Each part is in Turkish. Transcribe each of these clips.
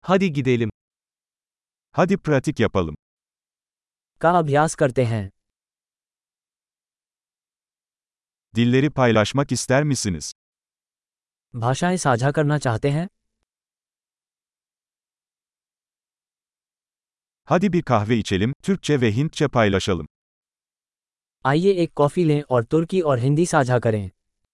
Hadi gidelim. Hadi pratik yapalım. का अभ्यास करते हैं। Dilleri paylaşmak ister misiniz? भाषाएं साझा करना चाहते हैं? Hadi bir kahve içelim, Türkçe ve Hintçe paylaşalım. आइए एक कॉफ़ी लें और तुर्की और हिंदी साझा करें।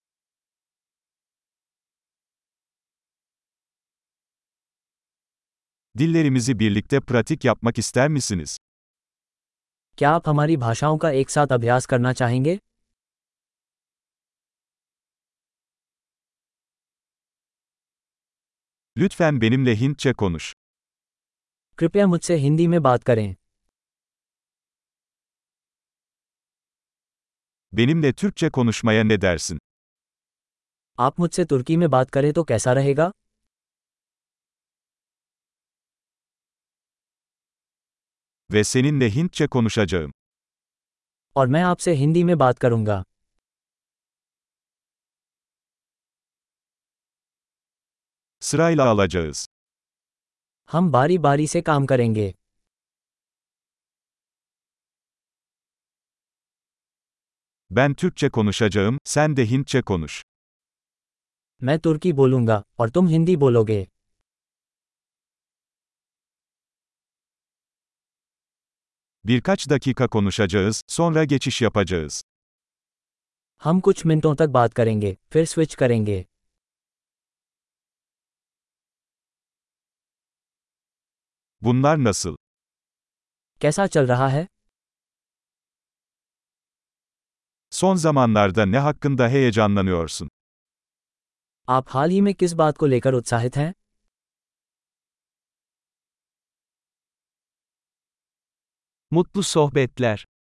Dillerimizi birlikte pratik yapmak ister misiniz? क्या आप हमारी भाषाओं का एक साथ अभ्यास करना चाहेंगे? Lütfen benimle Hintçe konuş. कृपया मुझसे हिंदी में बात करें। Benimle Türkçe konuşmaya ne dersin? आप मुझसे तुर्की में बात करें तो कैसा रहेगा? Ve seninle Hintçe konuşacağım. और मैं आपसे हिंदी में बात करूंगा। Sırayla alacağız. हम बारी बारी से काम करेंगे। Ben Türkçe konuşacağım, sen de Hintçe konuş. मैं तुर्की बोलूंगा और तुम हिंदी बोलोगे। Birkaç dakika konuşacağız, sonra geçiş yapacağız. हम कुछ मिनटों तक बात करेंगे, फिर स्विच करेंगे। Bunlar nasıl? कैसा चल रहा है? Son zamanlarda ne hakkında heyecanlanıyorsun? आप हाल ही में किस बात को लेकर उत्साहित हैं? Mutlu sohbetler.